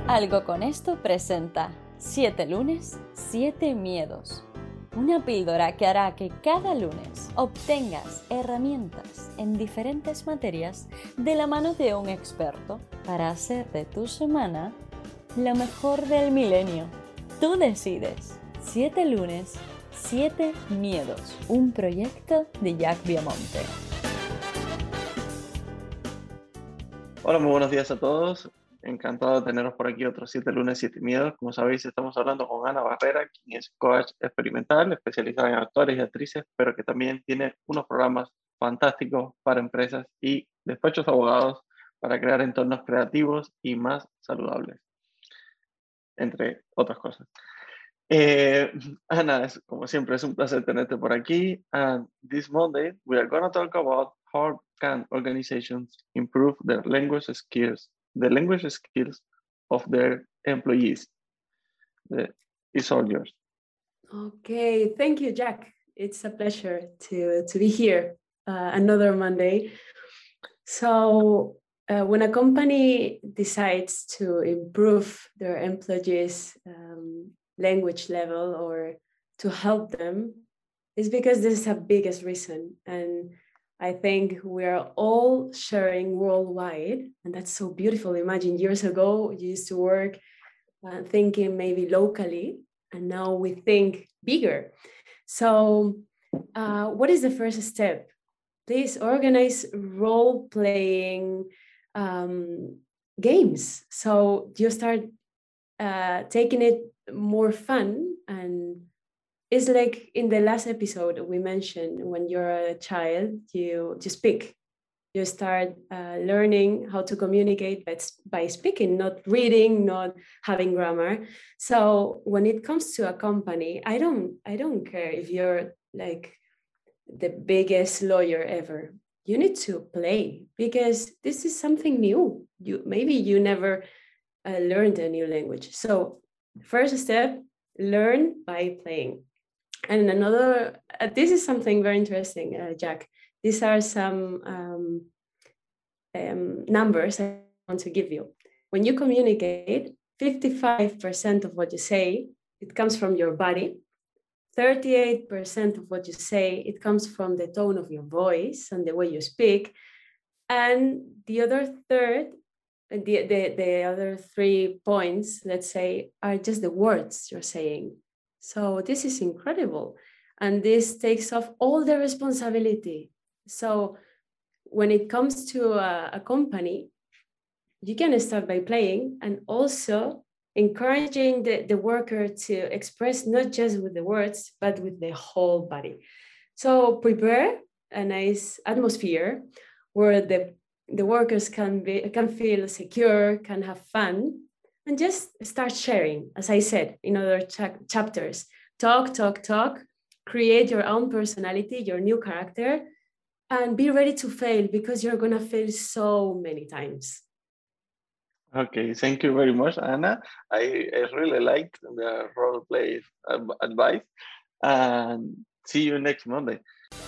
Algo con esto presenta 7 lunes, 7 miedos. Una píldora que hará que cada lunes obtengas herramientas en diferentes materias de la mano de un experto para hacer de tu semana la mejor del milenio. Tú decides. 7 lunes, 7 miedos. Un proyecto de Jack Viamonte. Hola, muy buenos días a todos. Encantado de teneros por aquí otros 7 lunes, 7 miedos. Como sabéis, estamos hablando con Ana Barrera, quien es coach experimental, especializada en actores y actrices, pero que también tiene unos programas fantásticos para empresas y despachos de abogados para crear entornos creativos y más saludables, entre otras cosas. Ana, como siempre, es un placer tenerte por aquí. And this Monday, we are going to talk about how can organizations improve the language skills of their employees. It's all yours. Okay, thank you, Jack. It's a pleasure to be here another Monday. So when a company decides to improve their employees' language level or to help them, it's because there's a biggest reason. And I think we are all sharing worldwide, and that's so beautiful. Imagine years ago, you used to work thinking maybe locally, and now we think bigger. So what is the first step? Please organize role-playing games. So you start taking it more fun, and it's like in the last episode we mentioned, when you're a child, you speak. You start learning how to communicate by speaking, not reading, not having grammar. So when it comes to a company, I don't care if you're like the biggest lawyer ever. You need to play, because this is something new. Maybe you never learned a new language. So first step, learn by playing. And another, this is something very interesting, Jack. These are some numbers I want to give you. When you communicate, 55% of what you say, it comes from your body. 38% of what you say, it comes from the tone of your voice and the way you speak. And the other third, the other 3 points, let's say, are just the words you're saying. So this is incredible. And this takes off all the responsibility. So when it comes to a company, you can start by playing and also encouraging the worker to express not just with the words, but with the whole body. So prepare a nice atmosphere where the workers can feel secure, can have fun, and just start sharing, as I said in other chapters. Talk, create your own personality, your new character, and be ready to fail, because you're going to fail so many times. Okay, thank you very much, Anna. I really liked the role play advice, and see you next Monday.